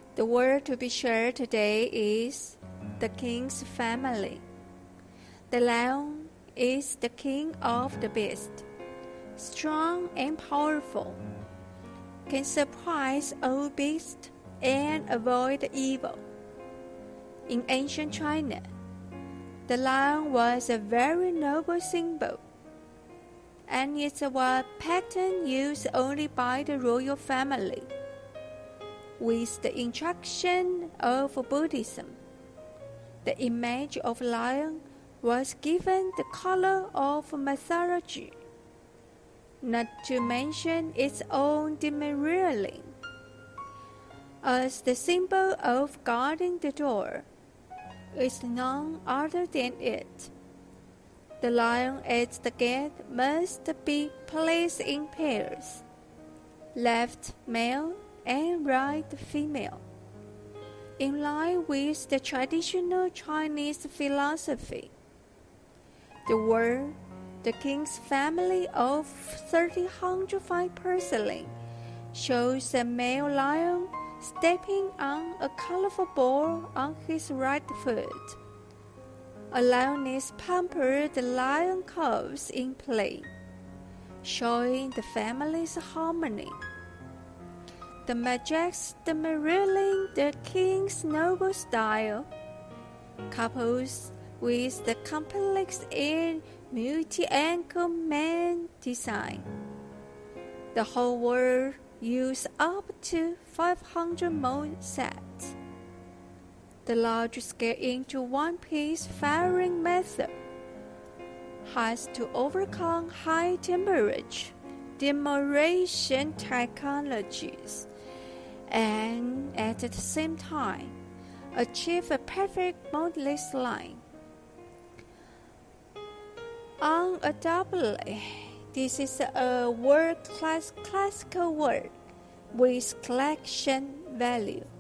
The word to be shared today is the king's family. The lion is the king of the beast, strong and powerful, can surprise all beasts and avoid evil. In ancient China, the lion was a very noble symbol, and it was pattern used only by the royal family. With the introduction of Buddhism, the image of lion was given the color of mythology, not to mention its own demurring. As the symbol of guarding the door is none other than it. The lion at the gate must be placed in pairs, left male and right female, in line with the traditional Chinese philosophy. The word, the king's family of 305 porcelain, shows a male lion stepping on a colorful ball on his right foot. A lioness pampered the lion cubs in play, showing the family's harmony. The majestic mirroring the king's noble style, couples with the complex and multi-angle man design. The whole world used up to 500 mold sets. The large-scale into one-piece firing method has to overcome high temperature demurration technologies and at the same time achieve a perfect modeless line. Undoubtedly, this is a world-class classical work with collection value.